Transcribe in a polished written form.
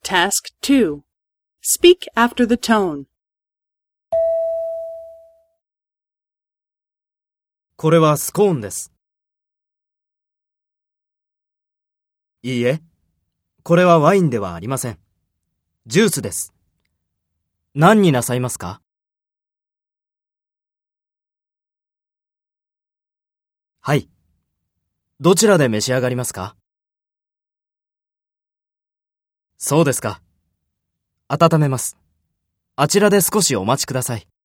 Task 2. Speak after the tone. これはスコーンです。いいえ、これはワインではありません。ジュースです。何になさいますか？はい。どちらで召し上がりますか？そうですか。温めます。あちらで少しお待ちください。